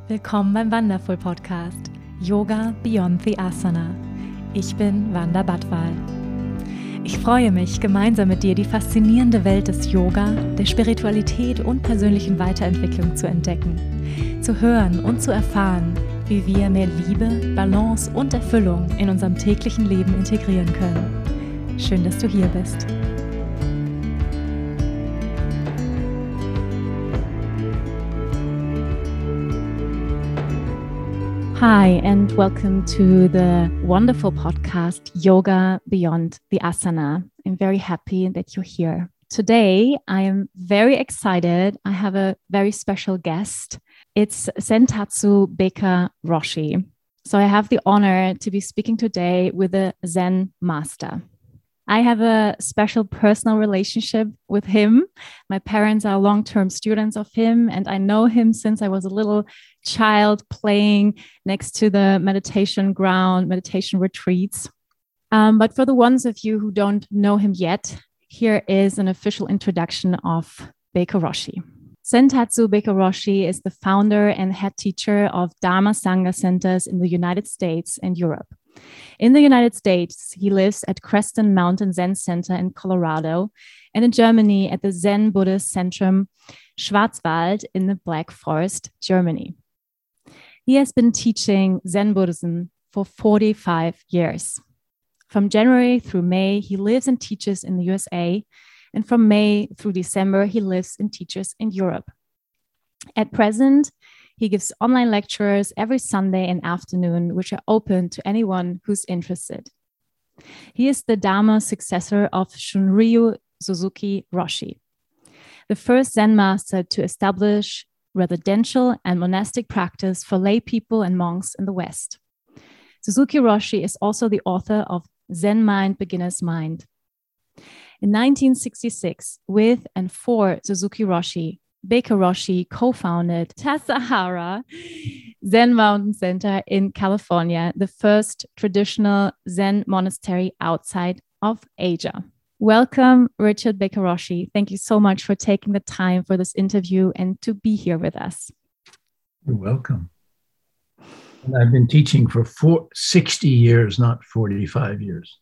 Willkommen beim Wonderful Podcast Yoga Beyond the Asana. Ich bin Wanda Badwal. Ich freue mich, gemeinsam mit dir die faszinierende Welt des Yoga, der Spiritualität und persönlichen Weiterentwicklung zu entdecken, zu hören und zu erfahren, wie wir mehr Liebe, Balance und Erfüllung in unserem täglichen Leben integrieren können. Schön, dass du hier bist. Hi, and welcome to the wonderful podcast, Yoga Beyond the Asana. I'm very happy that you're here. Today, I am very excited. I have a very special guest. It's Sentatsu Baker Roshi. So I have the honor to be speaking today with a Zen master. I have a special personal relationship with him. My parents are long-term students of him, and I know him since I was a little child playing next to the meditation ground, meditation retreats. But for the ones of you who don't know him yet, here is an official introduction of Baker Roshi. Sentatsu Baker Roshi is the founder and head teacher of Dharma Sangha centers in the United States and Europe. In the United States, he lives at Creston Mountain Zen Center in Colorado, and in Germany at the Zen Buddhist Centrum Schwarzwald in the Black Forest, Germany. He has been teaching Zen Buddhism for 45 years. From January through May, he lives and teaches in the USA, and from May through December, he lives and teaches in Europe. At present, he gives online lectures every Sunday and afternoon, which are open to anyone who's interested. He is the Dharma successor of Shunryu Suzuki Roshi, the first Zen master to establish residential and monastic practice for lay people and monks in the West. Suzuki Roshi is also the author of Zen Mind, Beginner's Mind. In 1966, with and for Suzuki Roshi, Baker Roshi co-founded Tassajara Zen Mountain Center in California, the first traditional Zen monastery outside of Asia. Welcome, Richard Baker Roshi. Thank you so much for taking the time for this interview and to be here with us. You're welcome. And I've been teaching for 60 years, not 45 years.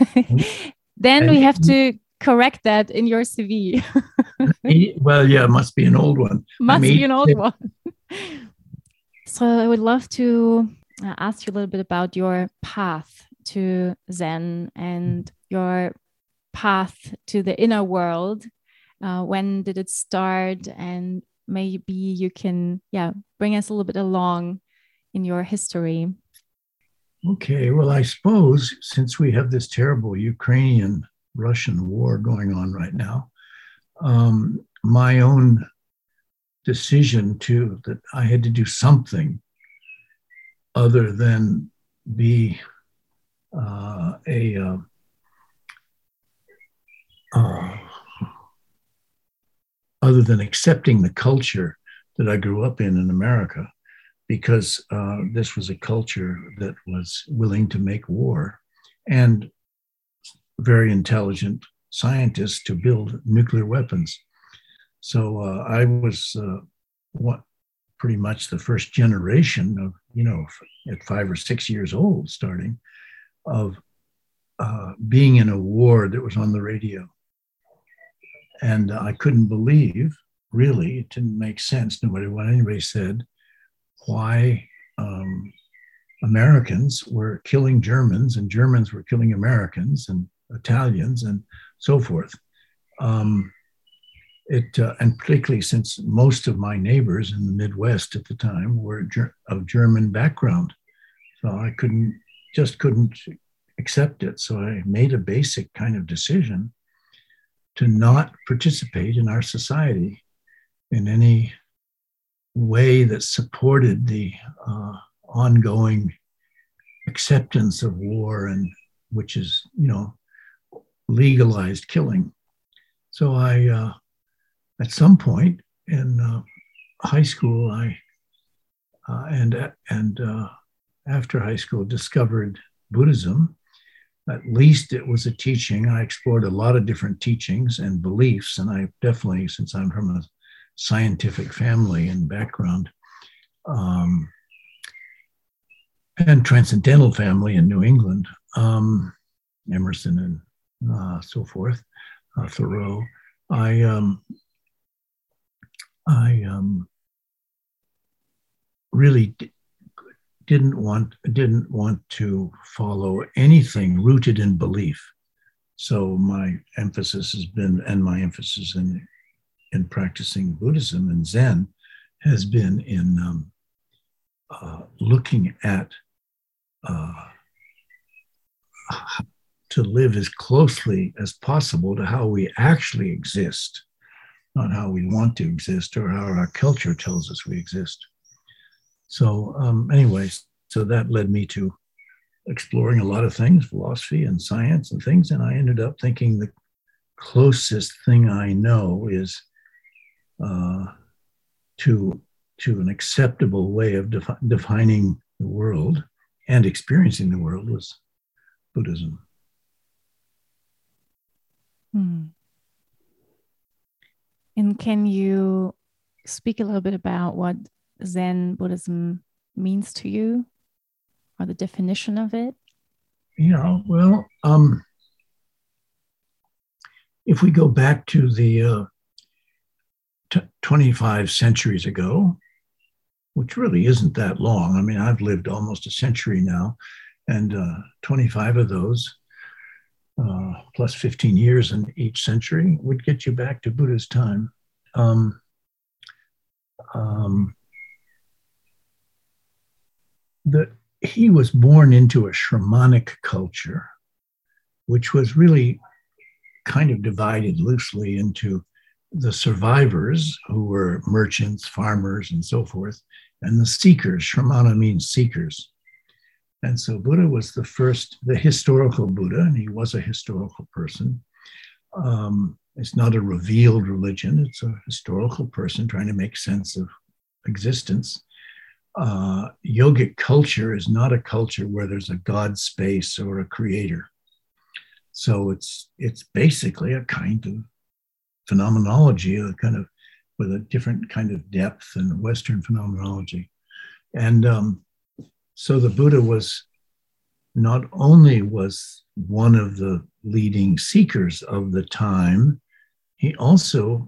Then we have to correct that in your CV. Well, yeah, it must be an old one. Must be an old one. So I would love to ask you a little bit about your path to Zen and your path to the inner world. When did it start? And maybe you can, bring us a little bit along in your history. Okay, well, I suppose since we have this terrible Ukrainian-Russian war going on right now, my own decision that I had to do something other than be other than accepting the culture that I grew up in America, because this was a culture that was willing to make war and very intelligent scientists to build nuclear weapons. So I was pretty much the first generation of, at 5 or 6 years old, starting of being in a war that was on the radio. And I couldn't believe, really, it didn't make sense, no matter what anybody said, why Americans were killing Germans and Germans were killing Americans and Italians and so forth. And particularly since most of my neighbors in the Midwest at the time were of German background. So I couldn't accept it. So I made a basic kind of decision to not participate in our society in any way that supported the ongoing acceptance of war, and which is, legalized killing. So I, at some point in high school, and after high school, discovered Buddhism. At least it was a teaching. I explored a lot of different teachings and beliefs, and I definitely, since I'm from a scientific family and background, um, and Transcendental family in New England, Emerson and so forth, Thoreau. I really didn't want to follow anything rooted in belief. So my emphasis has been, and my emphasis in practicing Buddhism and Zen has been in looking at to live as closely as possible to how we actually exist, not how we want to exist or how our culture tells us we exist. So anyways, so that led me to exploring a lot of things, philosophy and science and things. And I ended up thinking the closest thing I know is to an acceptable way of defining the world and experiencing the world was Buddhism. And can you speak a little bit about what Zen Buddhism means to you, or the definition of it? Yeah, well, if we go back to the 25 centuries ago, which really isn't that long. I mean, I've lived almost a century now, and 25 of those, plus 15 years in each century, would get you back to Buddha's time. He was born into a shamanic culture, which was really kind of divided loosely into the survivors, who were merchants, farmers, and so forth, and the seekers. Shramana means seekers. And so Buddha was the historical Buddha, and he was a historical person. It's not a revealed religion. It's a historical person trying to make sense of existence. Yogic culture is not a culture where there's a God space or a creator. So it's basically a kind of phenomenology, a kind of with a different kind of depth than Western phenomenology. And so the Buddha was not only was one of the leading seekers of the time, he also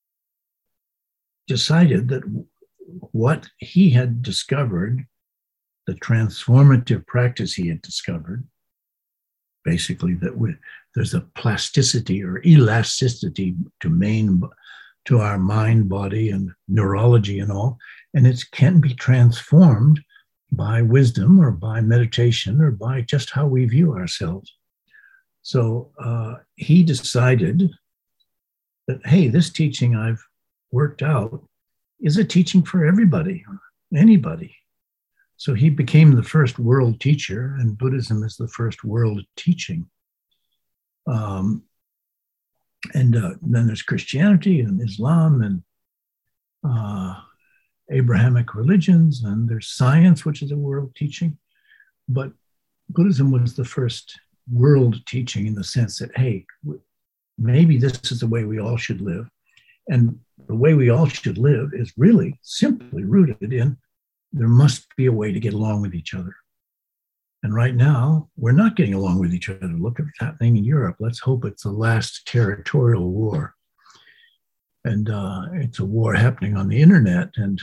decided that what he had discovered, the transformative practice he had discovered, basically that there's a plasticity or elasticity to our mind, body, and neurology and all, and it can be transformed by wisdom or by meditation or by just how we view ourselves. So he decided that, hey, this teaching I've worked out is a teaching for everybody, anybody. So he became the first world teacher, and Buddhism is the first world teaching. And then there's Christianity and Islam and Abrahamic religions, and there's science, which is a world teaching. But Buddhism was the first world teaching in the sense that, hey, maybe this is the way we all should live. And the way we all should live is really simply rooted in there must be a way to get along with each other. And right now, we're not getting along with each other. Look at what's happening in Europe. Let's hope it's the last territorial war. And it's a war happening on the internet and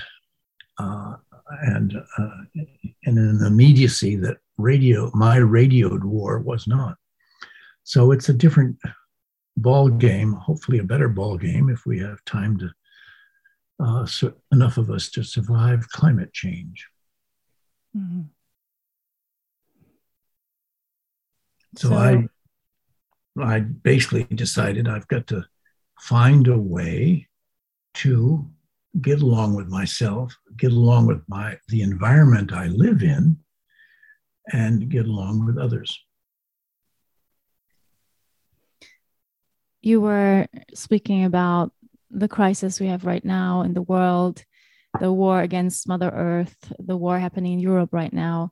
in an immediacy that my radioed war was not. So it's a different ball game, hopefully a better ball game if we have time to, enough of us to survive climate change. Mm-hmm. So I basically decided I've got to find a way to get along with myself, get along with the environment I live in, and get along with others. You were speaking about the crisis we have right now in the world, the war against Mother Earth, the war happening in Europe right now.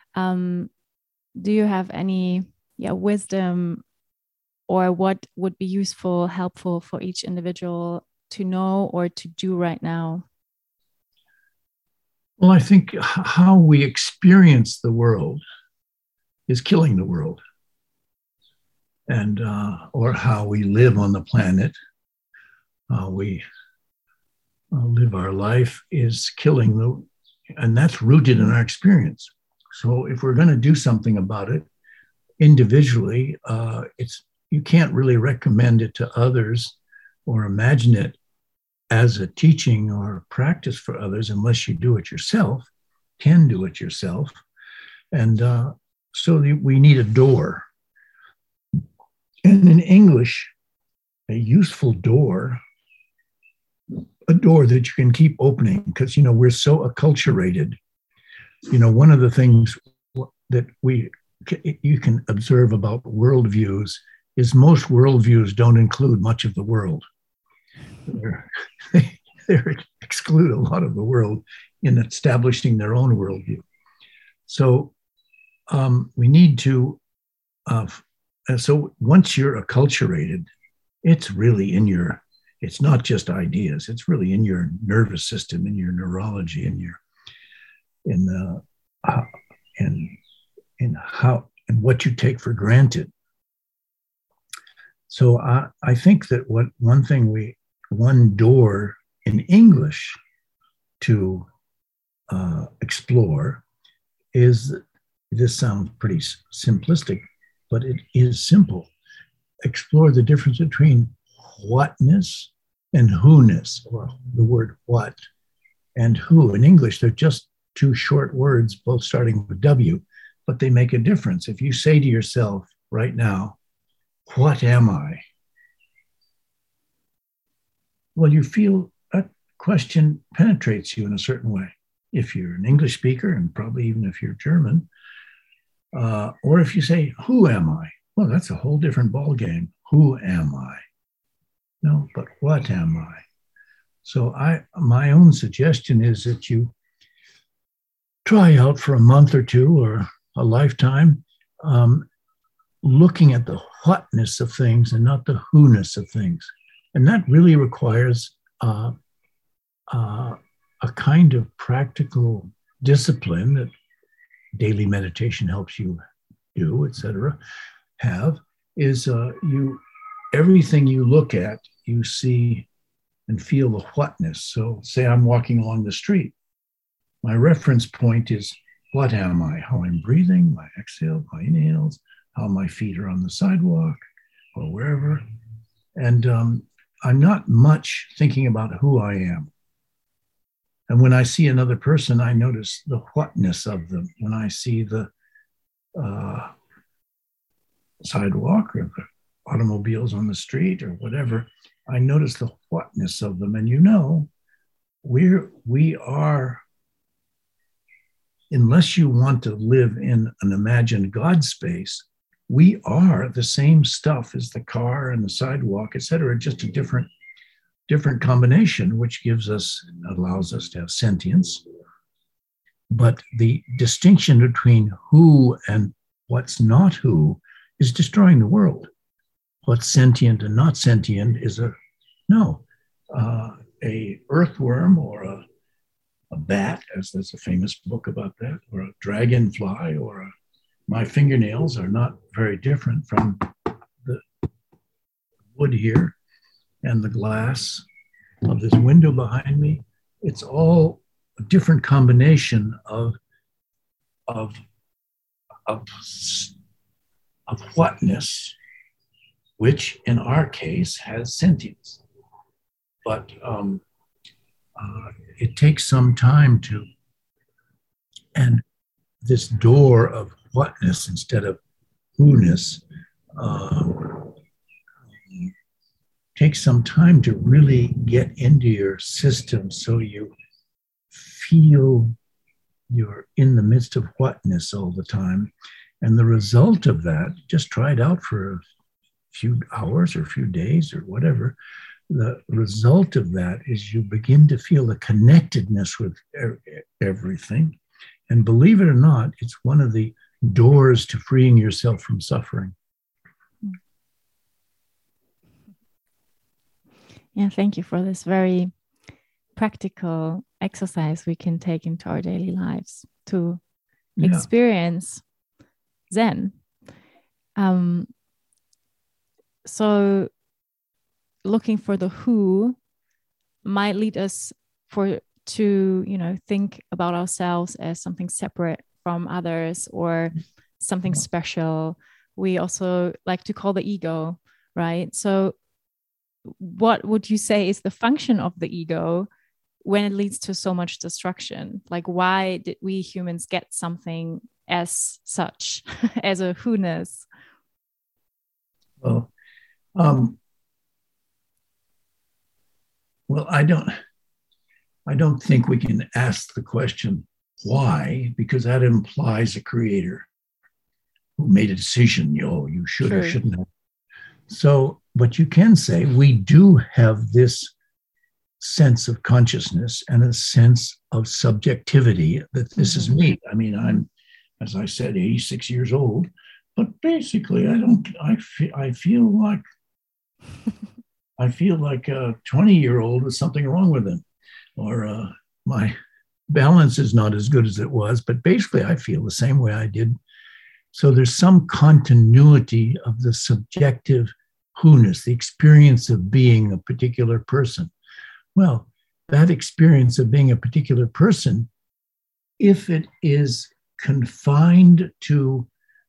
Do you have any wisdom, or what would be useful, helpful for each individual to know or to do right now? Well, I think how we experience the world is killing the world, and or how we live on the planet, how we live our life is killing the, and that's rooted in our experience. So if we're going to do something about it individually, it's you can't really recommend it to others or imagine it as a teaching or practice for others unless you do it yourself, can do it yourself. And so we need a door. And in English, a useful door, a door that you can keep opening, because, you know, we're so acculturated. You know, one of the things that you can observe about worldviews is most worldviews don't include much of the world. They exclude a lot of the world in establishing their own worldview. So we need to, so once you're acculturated, it's really in your, it's not just ideas, it's really in your nervous system, in your neurology, in how and what you take for granted. So I think that one door in English to explore is, this sounds pretty simplistic, but it is simple. Explore the difference between whatness and who-ness, or the word what and who. In English, they're just two short words, both starting with W, but they make a difference. If you say to yourself right now, what am I? Well, you feel that question penetrates you in a certain way. If you're an English speaker, and probably even if you're German, or if you say, who am I? Well, that's a whole different ballgame. Who am I? No, but what am I? So my own suggestion is that you try out for a month or two or a lifetime, looking at the whatness of things and not the who-ness of things. And that really requires a kind of practical discipline that daily meditation helps you do, etc. Is everything you look at, you see and feel the whatness. So say I'm walking along the street. My reference point is, what am I? How I'm breathing, my exhale, my inhales, how my feet are on the sidewalk or wherever. And I'm not much thinking about who I am. And when I see another person, I notice the whatness of them. When I see the sidewalk or the automobiles on the street or whatever, I notice the whatness of them. And you know, we are, unless you want to live in an imagined God space, we are the same stuff as the car and the sidewalk, et cetera, just a different combination, which allows us to have sentience. But the distinction between who and what's not who is destroying the world. What's sentient and not sentient is a earthworm or a bat, as there's a famous book about that, or a dragonfly, or my fingernails are not very different from the wood here and the glass of this window behind me. It's all a different combination of whatness, which in our case has sentience. But it takes some time to, and this door of whatness instead of who-ness takes some time to really get into your system, so you feel you're in the midst of whatness all the time. And the result of that, just try it out for a few hours or a few days or whatever. The result of that is you begin to feel the connectedness with everything. And believe it or not, it's one of the doors to freeing yourself from suffering. Yeah, thank you for this very practical exercise we can take into our daily lives to experience Zen. So looking for the who might lead us to think about ourselves as something separate from others or something special. We also like to call the ego, right? So what would you say is the function of the ego when it leads to so much destruction? Like, why did we humans get something as such, as a who-ness? Well, I don't think we can ask the question why, because that implies a creator who made a decision. You should or shouldn't have. So, but you can say we do have this sense of consciousness and a sense of subjectivity that this is me. I mean, I'm, as I said, 86 years old, but basically, I feel like a 20-year-old with something wrong with him, or my balance is not as good as it was, but basically I feel the same way I did. So there's some continuity of the subjective who-ness, the experience of being a particular person. Well, that experience of being a particular person, if it is confined to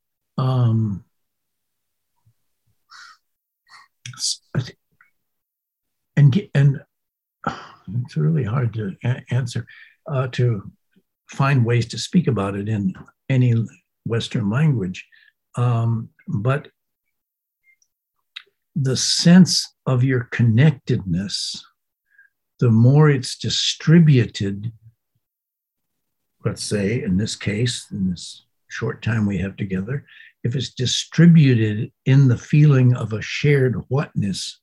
and it's really hard to answer, to find ways to speak about it in any Western language. But the sense of your connectedness, the more it's distributed, let's say in this case, in this short time we have together, if it's distributed in the feeling of a shared whatness,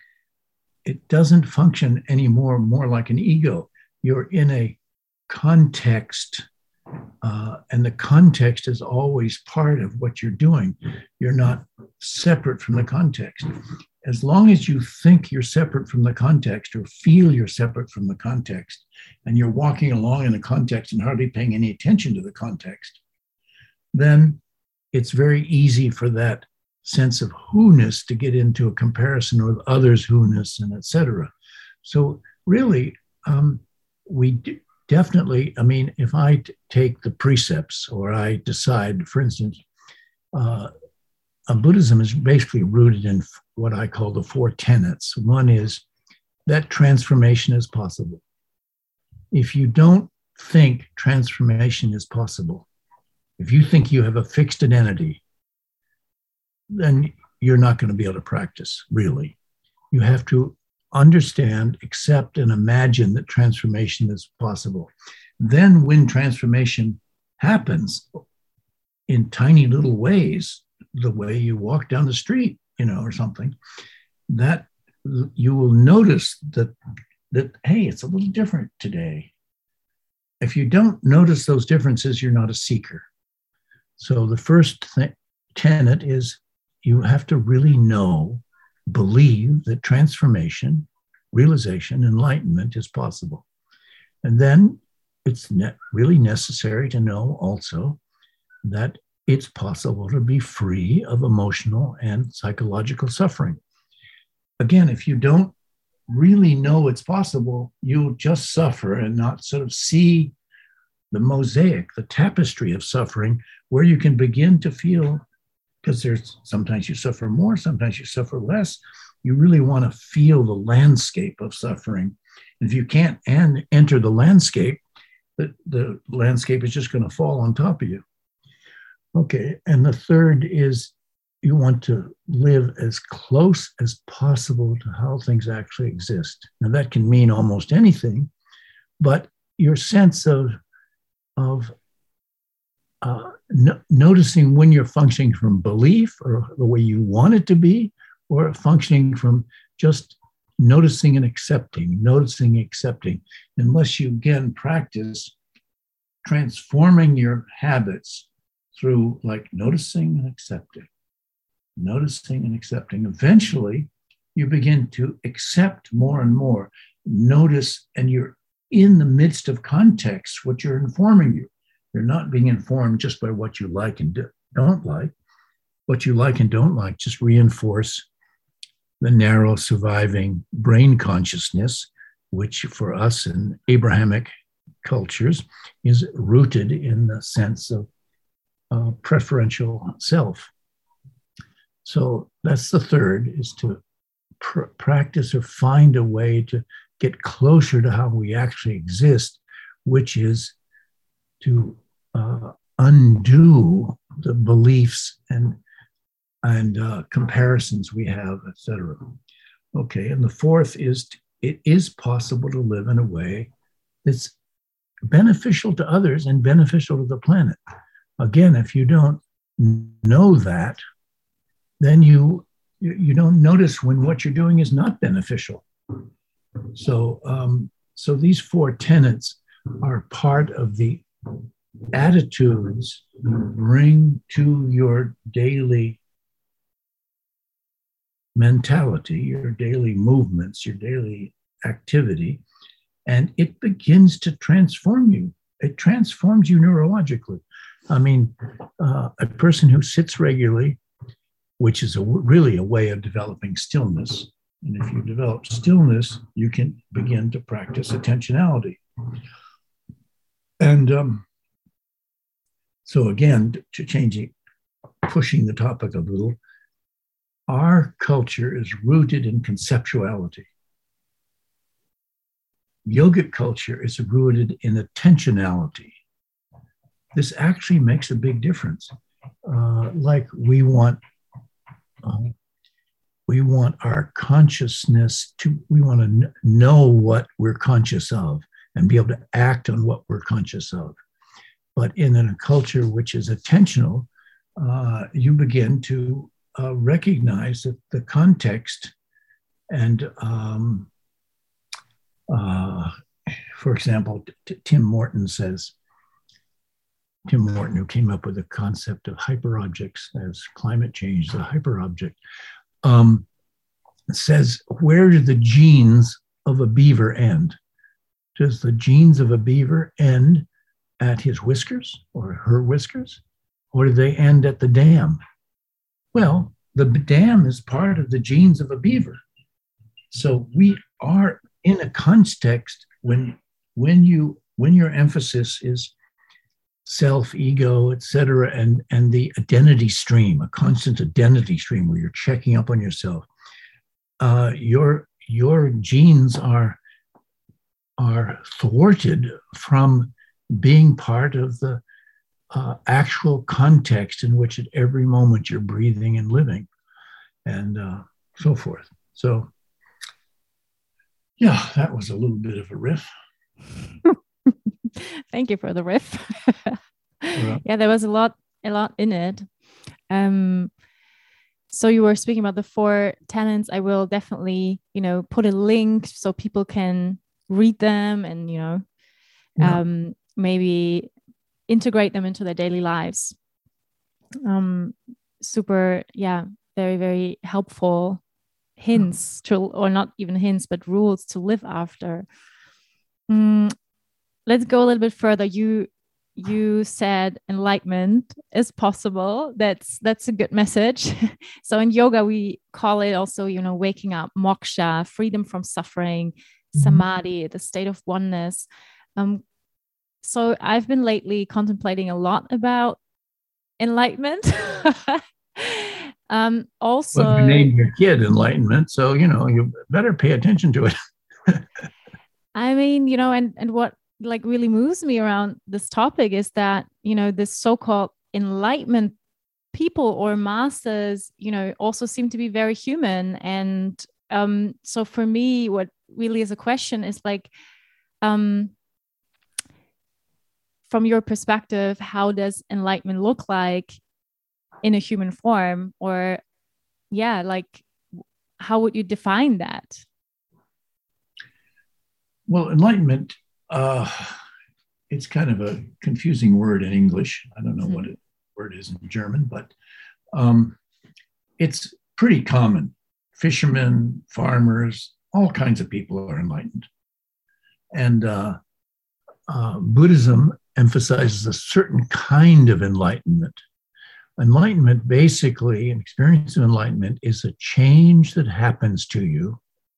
it doesn't function anymore more like an ego. You're in a context, and the context is always part of what you're doing. You're not separate from the context. As long as you think you're separate from the context or feel you're separate from the context, and you're walking along in a context and hardly paying any attention to the context, then it's very easy for that sense of who-ness to get into a comparison with others' who-ness and etc. So really, we definitely, I mean, if I take the precepts or I decide, for instance, Buddhism is basically rooted in what I call the four tenets. One is that transformation is possible. If you don't think transformation is possible, if you think you have a fixed identity, then you're not going to be able to practice, really. You have to understand, accept, and imagine that transformation is possible. Then when transformation happens in tiny little ways, the way you walk down the street, or something, that you will notice that, hey, it's a little different today. If you don't notice those differences, you're not a seeker. So the first tenet is you have to really believe that transformation, realization, enlightenment is possible. And then it's really necessary to know also that it's possible to be free of emotional and psychological suffering. Again, if you don't really know it's possible, you'll just suffer and not sort of see the mosaic, the tapestry of suffering, where you can begin to feel, because there's sometimes you suffer more, sometimes you suffer less. You really want to feel the landscape of suffering. And if you can't enter the landscape, the landscape is just going to fall on top of you. Okay, and the third is you want to live as close as possible to how things actually exist. Now that can mean almost anything, but your sense of noticing when you're functioning from belief or the way you want it to be, or functioning from just noticing and accepting, unless you again practice transforming your habits through like noticing and accepting. Eventually, you begin to accept more and more, notice, and you're in the midst of context, what you're informing you. You're not being informed just by what you like and don't like. What you like and don't like just reinforce the narrow surviving brain consciousness, which for us in Abrahamic cultures is rooted in the sense of preferential self. So that's the third, is to practice or find a way to get closer to how we actually exist, which is to undo the beliefs and comparisons we have, etc. Okay, and the fourth is it is possible to live in a way that's beneficial to others and beneficial to the planet. Again, if you don't know that, then you don't notice when what you're doing is not beneficial. So, so these four tenets are part of the attitudes you bring to your daily mentality, your daily movements, your daily activity, and it begins to transform you. It transforms you neurologically. I mean, a person who sits regularly, which is really a way of developing stillness. And if you develop stillness, you can begin to practice attentionality. And so again, to change it, pushing the topic a little, our culture is rooted in conceptuality. Yogic culture is rooted in attentionality. This actually makes a big difference. Like we want our consciousness we want to know what we're conscious of and be able to act on what we're conscious of. But in a culture which is attentional, you begin to recognize that the context and, for example, Tim Morton, who came up with the concept of hyperobjects as climate change, the hyperobject, says, where do the genes of a beaver end? Does the genes of a beaver end at his whiskers or her whiskers? Or do they end at the dam? Well, the dam is part of the genes of a beaver. So we are in a context when your emphasis is self, ego, etc., and the identity stream, a constant identity stream where you're checking up on yourself, your genes are thwarted from being part of the actual context in which at every moment you're breathing and living, and so forth. So, yeah, that was a little bit of a riff. Thank you for the riff. Yeah, there was a lot in it. So you were speaking about the four tenets. I will definitely, put a link so people can read them and, maybe integrate them into their daily lives. Super, very, very helpful hints or not even hints, but rules to live after. Let's go a little bit further. You said enlightenment is possible. That's a good message. So in yoga, we call it also, waking up, moksha, freedom from suffering, samadhi, the state of oneness. So I've been lately contemplating a lot about enlightenment. Also, well, you named your kid Enlightenment, so you better pay attention to it. I mean, and what really moves me around this topic is that this so-called enlightenment people or masters also seem to be very human. And so for me, what really is a question is from your perspective, how does enlightenment look like in a human form? Or how would you define that? Well, enlightenment, it's kind of a confusing word in English. I don't know what the word is in German, but it's pretty common. Fishermen, farmers, all kinds of people are enlightened. And Buddhism emphasizes a certain kind of enlightenment. Enlightenment, basically, an experience of enlightenment is a change that happens to you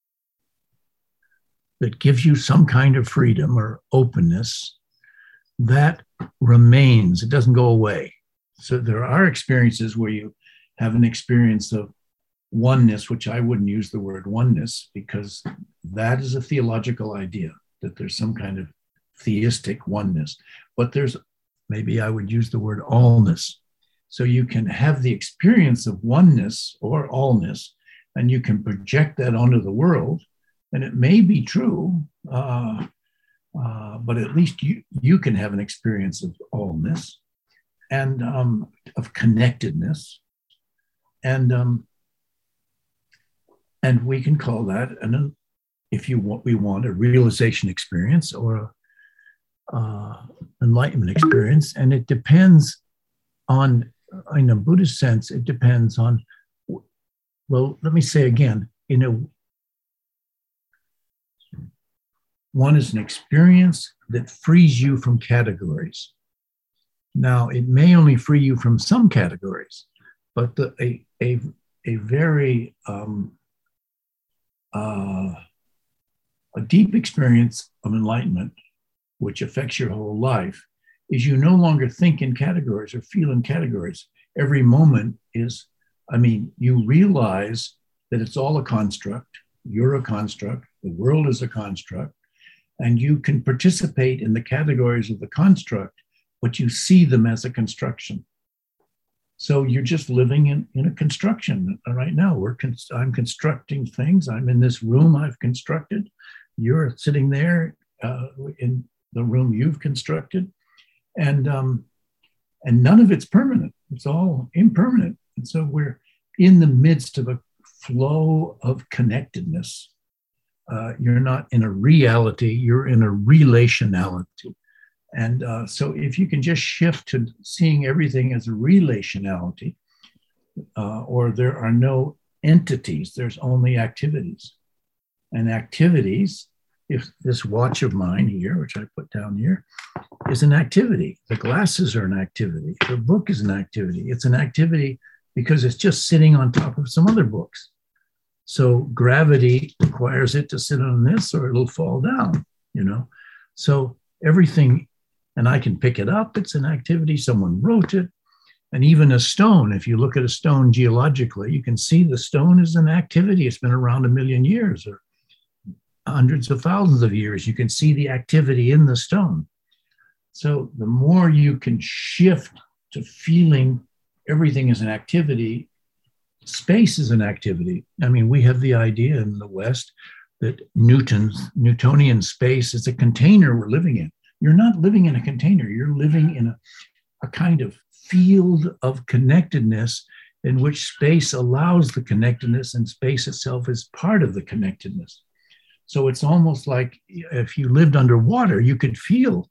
that gives you some kind of freedom or openness that remains. It doesn't go away. So there are experiences where you have an experience of oneness, which I wouldn't use the word oneness because that is a theological idea, that there's some kind of theistic oneness. But there's, maybe I would use the word allness. So you can have the experience of oneness or allness, and you can project that onto the world, and it may be true, but at least you can have an experience of allness and of connectedness, and we can call that if we want a realization experience or enlightenment experience, and it depends on, in a Buddhist sense, it depends on, well, let me say again, one is an experience that frees you from categories. Now, it may only free you from some categories, but a very a deep experience of enlightenment, which affects your whole life, is you no longer think in categories or feel in categories. Every moment is, you realize that it's all a construct. You're a construct. The world is a construct. And you can participate in the categories of the construct, but you see them as a construction. So you're just living in a construction right now. I'm constructing things. I'm in this room I've constructed. You're sitting there in the room you've constructed. And none of it's permanent. It's all impermanent. And so we're in the midst of a flow of connectedness. You're not in a reality, you're in a relationality. And so if you can just shift to seeing everything as a relationality, or there are no entities, there's only activities. And activities, if this watch of mine here, which I put down here, is an activity. The glasses are an activity. The book is an activity. It's an activity because it's just sitting on top of some other books. So gravity requires it to sit on this or it'll fall down, So everything, and I can pick it up, it's an activity, someone wrote it. And even a stone, if you look at a stone geologically, you can see the stone is an activity. It's been around 1 million years or hundreds of thousands of years. You can see the activity in the stone. So the more you can shift to feeling everything as an activity, space is an activity. We have the idea in the West that Newtonian space is a container we're living in. You're not living in a container. You're living in a kind of field of connectedness in which space allows the connectedness and space itself is part of the connectedness. So it's almost like if you lived underwater, you could feel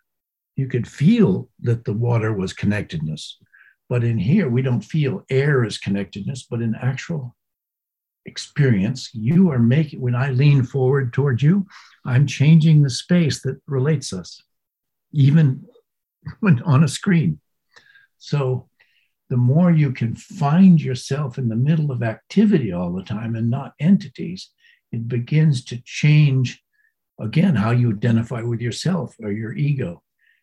that the water was connectedness. But in here, we don't feel air as connectedness, but in actual experience, you are making, when I lean forward towards you, I'm changing the space that relates us, even when on a screen. So the more you can find yourself in the middle of activity all the time and not entities, it begins to change, again, how you identify with yourself or your ego.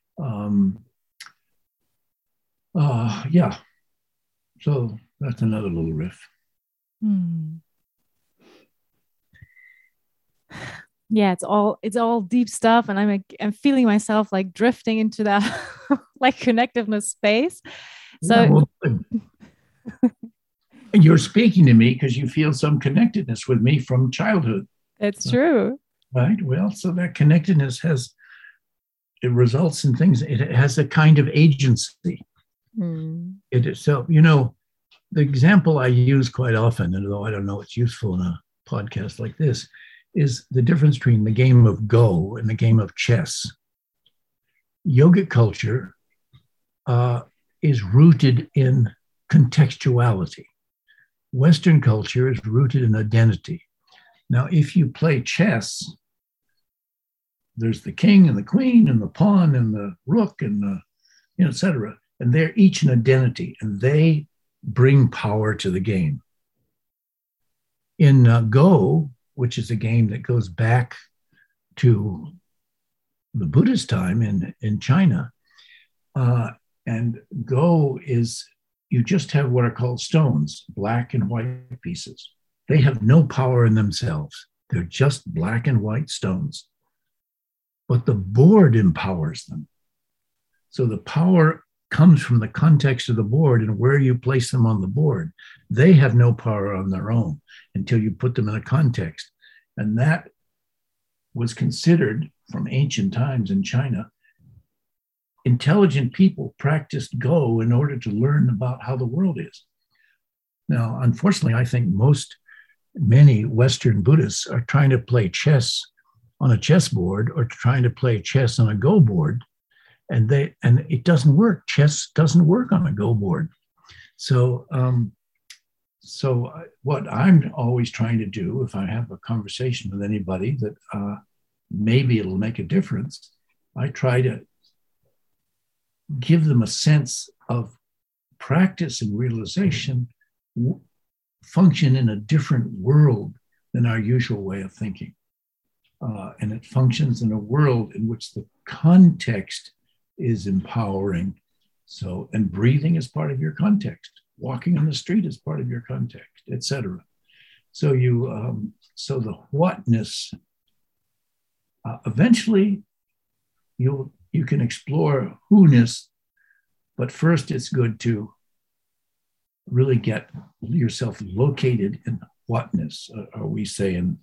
So that's another little riff. Yeah, it's all deep stuff, and I'm feeling myself like drifting into that like connectiveness space. So you're speaking to me because you feel some connectedness with me from childhood. It's true. Right. Well, so that connectedness it results in things. It has a kind of agency. It itself, the example I use quite often, and although I don't know it's useful in a podcast like this, is the difference between the game of Go and the game of chess. Yogic culture is rooted in contextuality. Western culture is rooted in identity. Now, if you play chess, there's the king and the queen and the pawn and the rook and the, et cetera. And they're each an identity, and they bring power to the game. In Go, which is a game that goes back to the Buddhist time in China, and Go is, you just have what are called stones, black and white pieces. They have no power in themselves. They're just black and white stones. But the board empowers them. So the power comes from the context of the board and where you place them on the board. They have no power on their own until you put them in a context. And that was considered from ancient times in China. Intelligent people practiced Go in order to learn about how the world is. Now, unfortunately, I think many Western Buddhists are trying to play chess on a chessboard or trying to play chess on a Go board, and it doesn't work. Chess doesn't work on a Go board. So what I'm always trying to do, if I have a conversation with anybody that maybe it'll make a difference, I try to give them a sense of practice and realization function in a different world than our usual way of thinking. And it functions in a world in which the context is empowering. So, and breathing is part of your context. Walking on the street is part of your context, etc. So so the whatness, eventually you can explore who-ness, but first it's good to really get yourself located in whatness, or we say in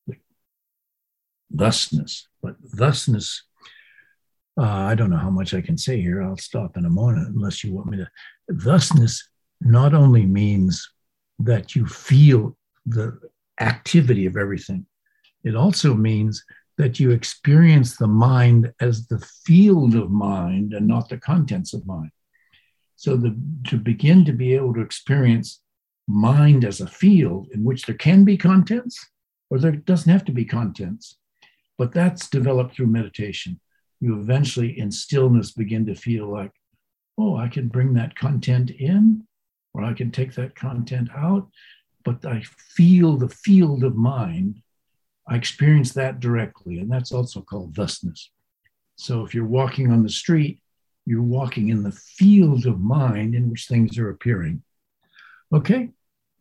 thusness. But thusness, I don't know how much I can say here. I'll stop in a moment unless you want me to. Thusness not only means that you feel the activity of everything, it also means that you experience the mind as the field of mind and not the contents of mind. So to begin to be able to experience mind as a field in which there can be contents, or there doesn't have to be contents, but that's developed through meditation. You eventually in stillness begin to feel like, oh, I can bring that content in, or I can take that content out, but I feel the field of mind. I experience that directly, and that's also called thusness. So if you're walking on the street, you're walking in the field of mind in which things are appearing. Okay?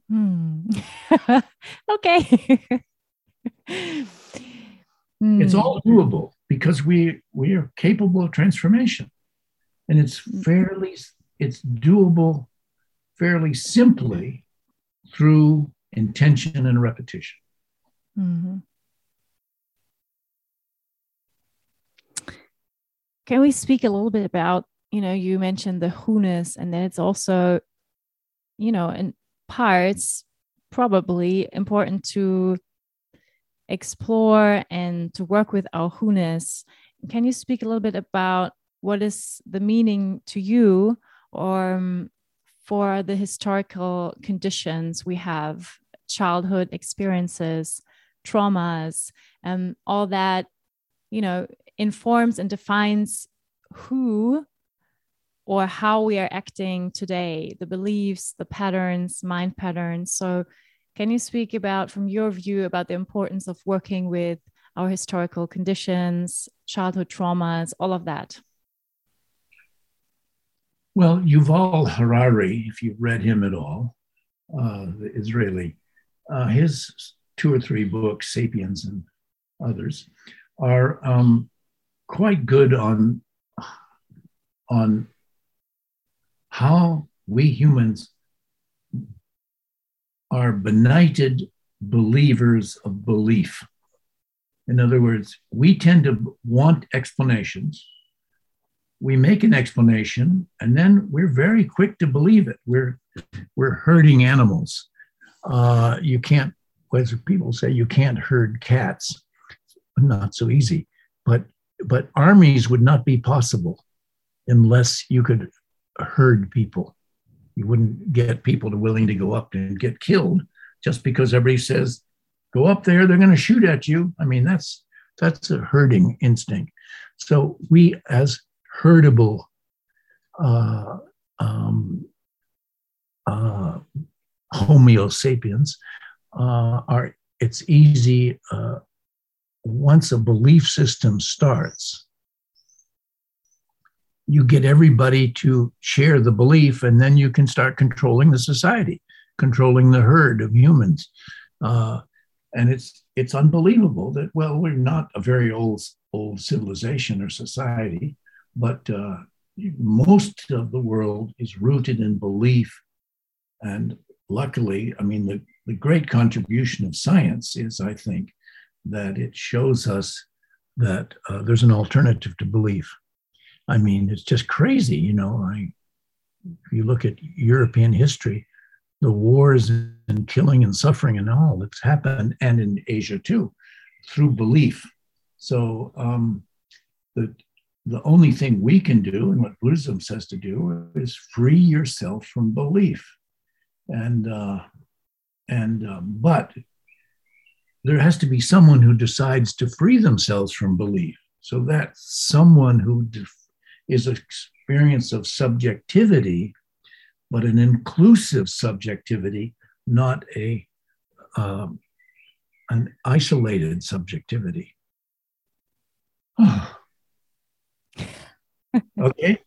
Okay. It's all doable because we are capable of transformation. And it's doable fairly simply through intention and repetition. Mm-hmm. Can we speak a little bit about, you mentioned the who-ness, and then it's also, in parts probably important to explore and to work with our who-ness. Can you speak a little bit about what is the meaning to you or for the historical conditions we have, childhood experiences, traumas, and all that, informs and defines who or how we are acting today, the beliefs, the patterns, mind patterns. So can you speak about, from your view, about the importance of working with our historical conditions, childhood traumas, all of that? Well, Yuval Harari, if you've read him at all, the Israeli, his 2 or 3 books, Sapiens and others, are quite good on how we humans are benighted believers of belief. In other words, we tend to want explanations. We make an explanation, and then we're very quick to believe it. We're herding animals. You can't, as people say, you can't herd cats. Not so easy. But armies would not be possible unless you could herd people. You wouldn't get people willing to go up and get killed just because everybody says, go up there, they're going to shoot at you. I mean, that's That's a herding instinct. So we, as herdable Homo sapiens, it's easy once a belief system starts, you get everybody to share the belief, and then you can start controlling the society, controlling the herd of humans. And it's unbelievable that, well, we're not a very old civilization or society, but most of the world is rooted in belief. And luckily, I mean, the great contribution of science is, I think, that it shows us that there's an alternative to belief. I mean, it's just crazy, you know. If you look at European history, the wars and killing and suffering and all that's happened, and in Asia too, through belief. So the only thing we can do, and what Buddhism says to do, is free yourself from belief. But there has to be someone who decides to free themselves from belief. So that someone who is an experience of subjectivity, but an inclusive subjectivity, not an isolated subjectivity. Okay.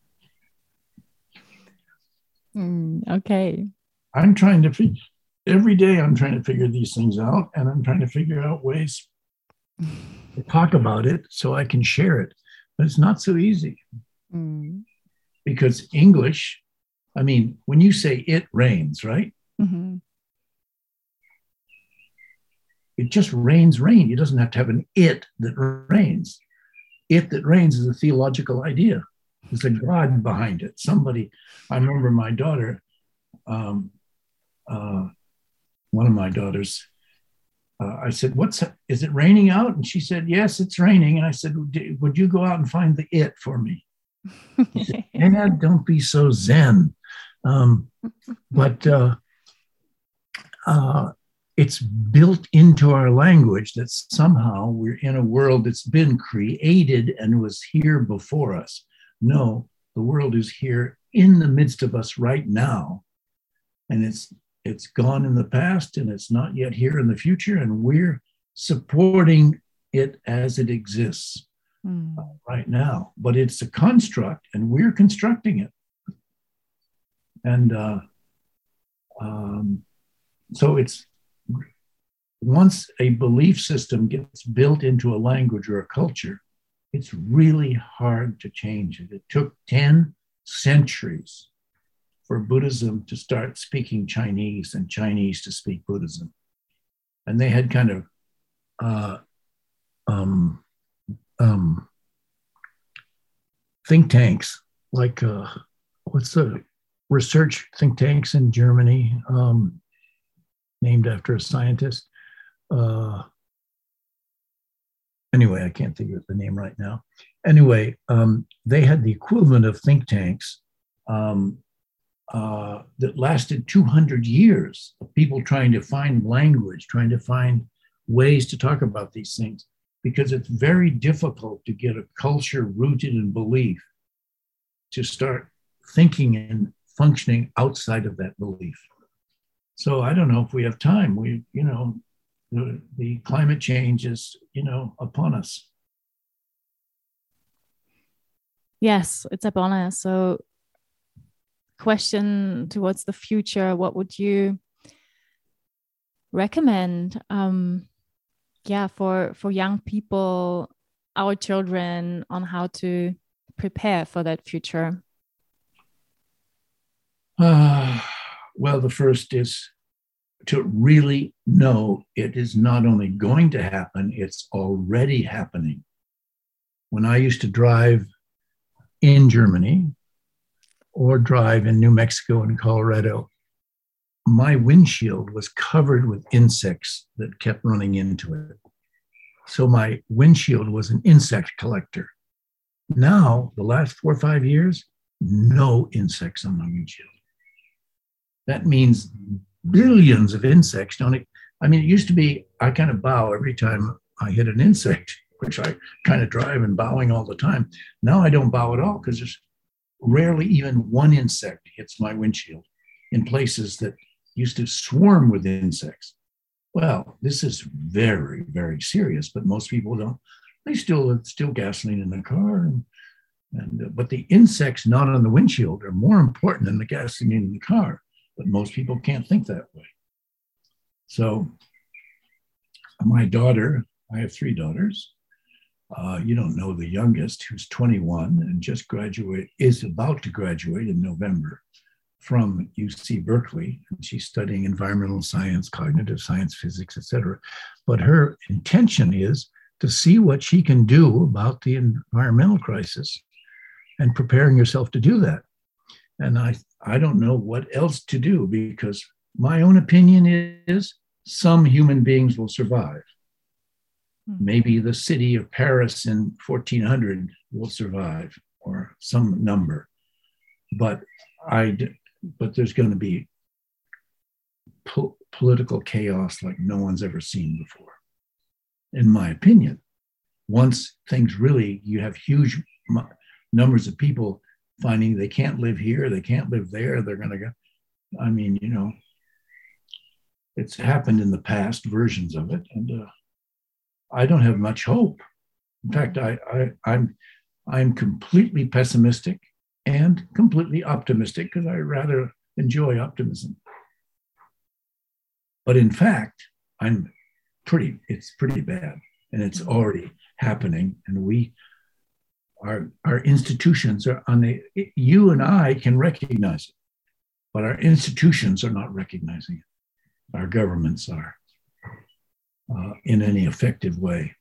Okay. Every day I'm trying to figure these things out, and I'm trying to figure out ways to talk about it so I can share it. But it's not so easy. Because English, I mean, when you say it rains, right? Mm-hmm. It just rains rain. It doesn't have to have an it that rains. It that rains is a theological idea. There's a God behind it. I remember my daughter, one of my daughters, I said, is it raining out? And she said, yes, it's raining. And I said, would you go out and find the it for me? She said, Dad, don't be so zen. But it's built into our language that somehow we're in a world that's been created and was here before us. No, the world is here in the midst of us right now. And it's gone in the past, and it's not yet here in the future, and we're supporting it as it exists right now. But it's a construct, and we're constructing it. And so it's, once a belief system gets built into a language or a culture, it's really hard to change it. It took 10 centuries for Buddhism to start speaking Chinese and Chinese to speak Buddhism. And they had kind of think tanks, like what's the research think tanks in Germany, named after a scientist. Anyway, I can't think of the name right now. Anyway, they had the equivalent of think tanks that lasted 200 years of people trying to find language, trying to find ways to talk about these things, because it's very difficult to get a culture rooted in belief to start thinking and functioning outside of that belief. So I don't know if we have time. The climate change is, upon us. Yes, it's upon us. So question towards the future, what would you recommend for young people, our children, on how to prepare for that future? Well, the first is to really know it is not only going to happen, it's already happening. When I used to drive in Germany or drive in New Mexico and Colorado, my windshield was covered with insects that kept running into it. So my windshield was an insect collector. Now, the last 4 or 5 years, no insects on my windshield. That means billions of insects don't. I mean, it used to be I kind of bow every time I hit an insect. which I kind of drive and bowing all the time. Now I don't bow at all because there's rarely even one insect hits my windshield in places that used to swarm with insects. Well, this is very, very serious, but most people don't. They still gasoline in the car, but the insects not on the windshield are more important than the gasoline in the car. But most people can't think that way. So, my daughter, I have 3 daughters. You don't know the youngest, who's 21 and is about to graduate in November from UC Berkeley, and she's studying environmental science, cognitive science, physics, etc. But her intention is to see what she can do about the environmental crisis and preparing herself to do that. And I don't know what else to do, because my own opinion is some human beings will survive. Maybe the city of Paris in 1400 will survive, or some number. But there's going to be political chaos like no one's ever seen before, in my opinion. Once things really, you have huge numbers of people finding they can't live here, they can't live there, they're going to go. I mean, it's happened in the past, versions of it, and I don't have much hope. In fact, I'm completely pessimistic and completely optimistic, because I rather enjoy optimism. But in fact, it's pretty bad, and it's already happening. And our institutions are you and I can recognize it, but our institutions are not recognizing it. Our governments are in any effective way.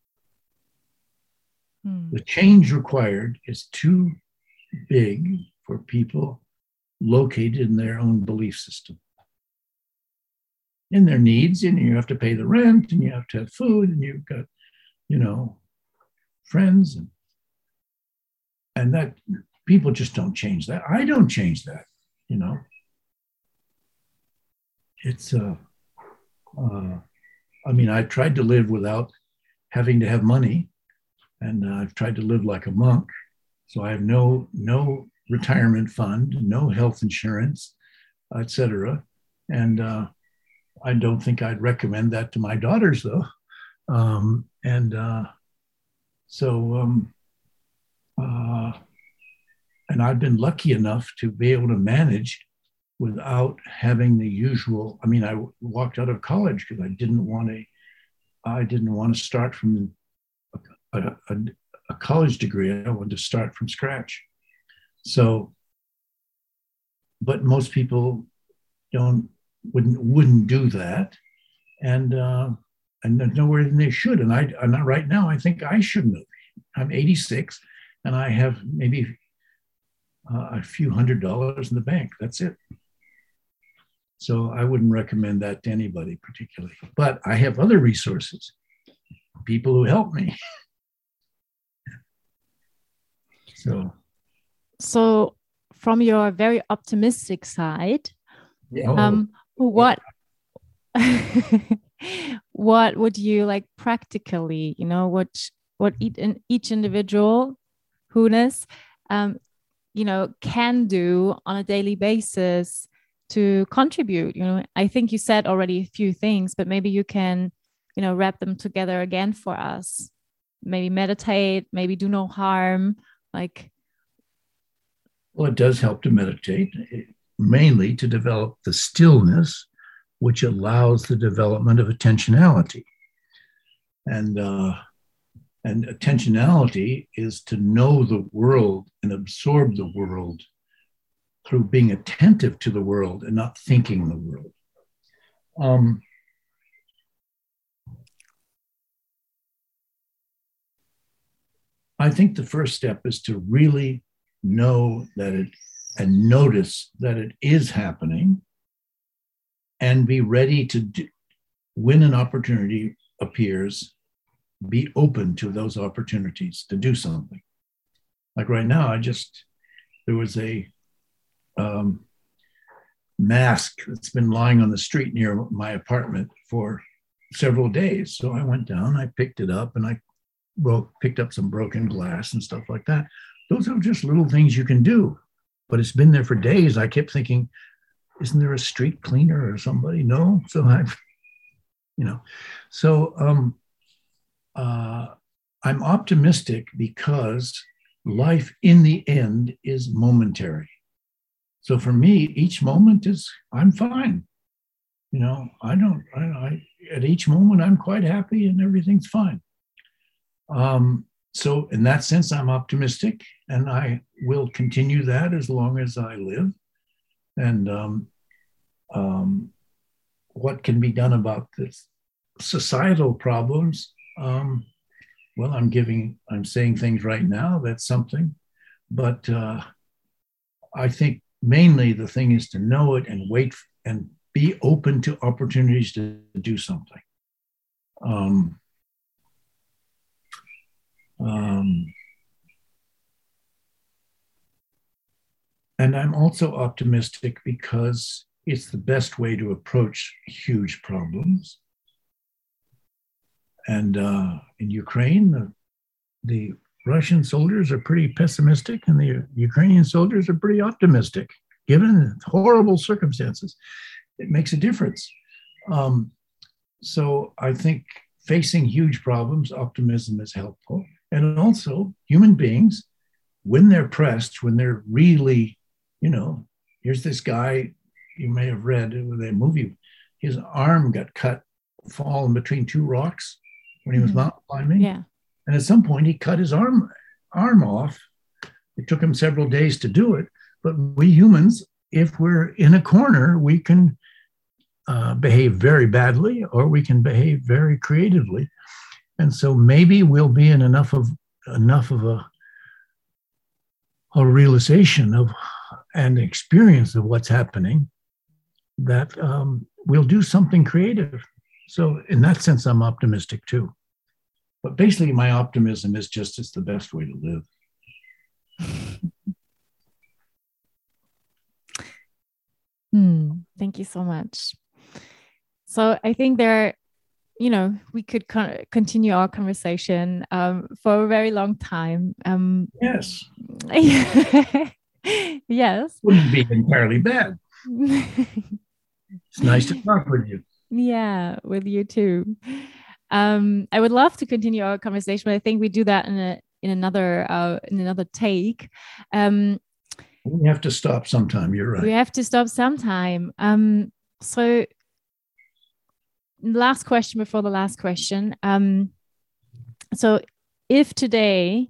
The change required is too big for people located in their own belief system, in their needs. And you have to pay the rent, and you have to have food, and you've got, friends, and that people just don't change that. I don't change that, It's I've tried to live without having to have money, and I've tried to live like a monk. So I have no retirement fund, no health insurance, etc. And I don't think I'd recommend that to my daughters, though. And I've been lucky enough to be able to manage without having the usual. I walked out of college because I didn't want to start from a college degree. I wanted to start from scratch. So, but most people wouldn't do that, and there's nowhere they should. And I'm right now, I think I shouldn't have. I'm 86, and I have maybe a few $100s in the bank. That's it. So I wouldn't recommend that to anybody particularly. But I have other resources, people who help me. So from your very optimistic side, what would you like practically, what each individual who-ness, can do on a daily basis to contribute? I think you said already a few things, but maybe you can, wrap them together again for us. Maybe meditate, maybe do no harm. Well, it does help to meditate, mainly to develop the stillness, which allows the development of attentionality. And attentionality is to know the world and absorb the world through being attentive to the world and not thinking the world. I think the first step is to really know and notice that it is happening, and be ready to when an opportunity appears, be open to those opportunities to do something. Like right now, there was a mask that's been lying on the street near my apartment for several days. So I went down, I picked it up, and I picked up some broken glass and stuff like that. Those are just little things you can do. But it's been there for days. I kept thinking, isn't there a street cleaner or somebody? No. So I'm optimistic because life in the end is momentary. So for me, each moment I'm fine. At each moment, I'm quite happy and everything's fine. So in that sense, I'm optimistic, and I will continue that as long as I live. And what can be done about this societal problems? Well, I'm saying things right now, that's something, but I think mainly the thing is to know it and wait and be open to opportunities to do something. And I'm also optimistic because it's the best way to approach huge problems. And in Ukraine, the Russian soldiers are pretty pessimistic and the Ukrainian soldiers are pretty optimistic. Given horrible circumstances, it makes a difference. So I think facing huge problems, optimism is helpful. And also human beings, when they're pressed, when they're really, here's this guy, you may have read in the movie, his arm got cut, fallen between two rocks when he was mountain climbing. Yeah. And at some point he cut his arm off. It took him several days to do it. But we humans, if we're in a corner, we can behave very badly or we can behave very creatively. And so maybe we'll be in enough of a realization of and experience of what's happening that we'll do something creative. So in that sense, I'm optimistic too. But basically my optimism is just it's the best way to live. Thank you so much. So I think we could continue our conversation for a very long time. Yes. Yes. Wouldn't be entirely bad. It's nice to talk with you. Yeah, with you too. I would love to continue our conversation, but I think we do that in another take. We have to stop sometime. You're right. We have to stop sometime. So last question before the last question. So if today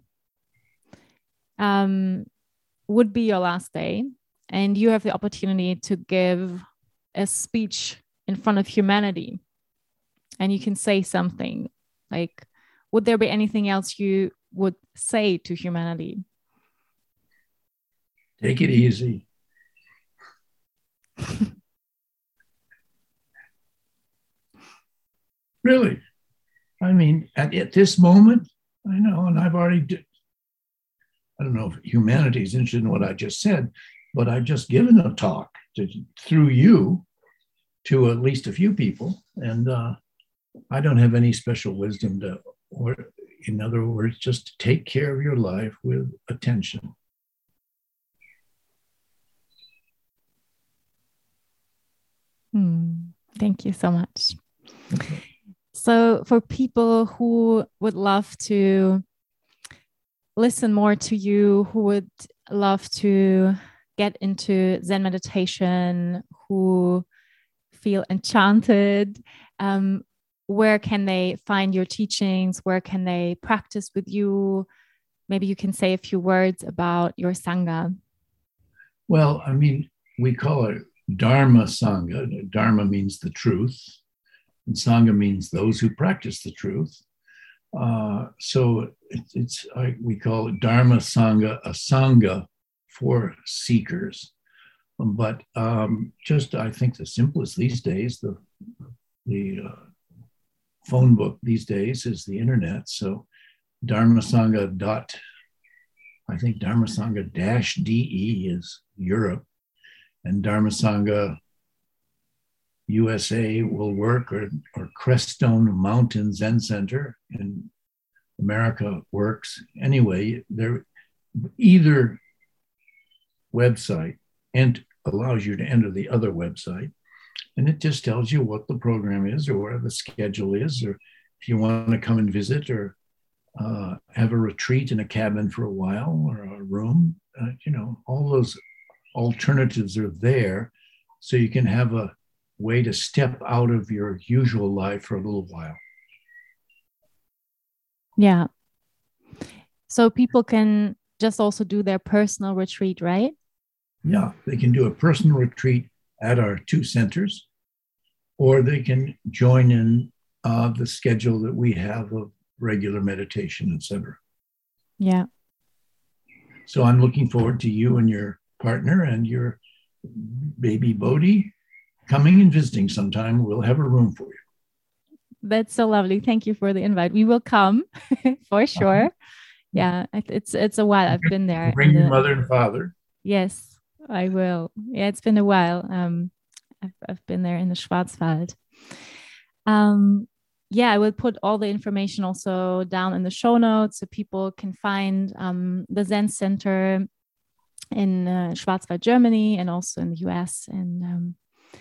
would be your last day and you have the opportunity to give a speech in front of humanity and you can say something, like, would there be anything else you would say to humanity? Take it easy. Really. I mean, at this moment, I know, and I've already I don't know if humanity is interested in what I just said, but I've just given a talk through you to at least a few people. And I don't have any special wisdom or in other words, just to take care of your life with attention. Thank you so much. Okay. So for people who would love to listen more to you, who would love to get into Zen meditation, who feel enchanted, where can they find your teachings? Where can they practice with you? Maybe you can say a few words about your Sangha. Well, I mean, we call it Dharma Sangha. Dharma means the truth, and Sangha means those who practice the truth. So we call it Dharma Sangha, a Sangha for seekers. But just I think the simplest these days, the phone book these days is the internet. So Dharmasangha I think Dharmasangha-DE is Europe, and Dharmasangha USA will work, or Crestone Mountain Zen Center in America works. Anyway, either website and allows you to enter the other website, and it just tells you what the program is or what the schedule is, or if you want to come and visit or have a retreat in a cabin for a while or a room. All those alternatives are there, so you can have a way to step out of your usual life for a little while. Yeah. So people can just also do their personal retreat, right? Yeah, they can do a personal retreat at our 2 centers, or they can join in the schedule that we have of regular meditation, etc. Yeah. So I'm looking forward to you and your partner and your baby Bodhi coming and visiting sometime. We'll have a room for you. That's so lovely. Thank you for the invite. We will come for sure. Yeah, it's a while. I've been there. Bring your mother and father. Yes, I will. Yeah, it's been a while. I've been there in the Schwarzwald. Yeah, I will put all the information also down in the show notes so people can find the Zen Center in Schwarzwald, Germany, and also in the US. And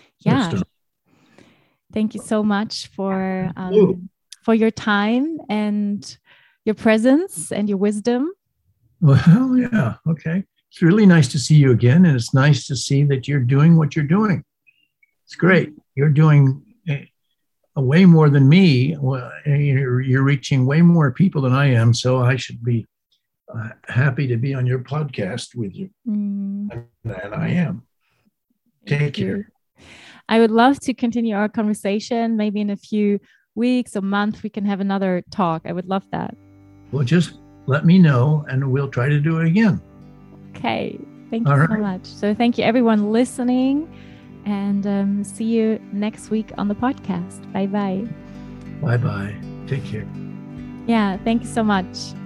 thank you so much for your time and your presence and your wisdom. Well, yeah, okay. It's really nice to see you again, and it's nice to see that you're doing what you're doing. It's great. You're doing way more than me. You're reaching way more people than I am, so I should be happy to be on your podcast with you. And I am. Take care. I would love to continue our conversation. Maybe in a few weeks or months, we can have another talk. I would love that. Well, just let me know and we'll try to do it again. Okay. Thank you so much. So thank you everyone listening, and see you next week on the podcast. Bye-bye. Bye-bye. Take care. Yeah. Thank you so much.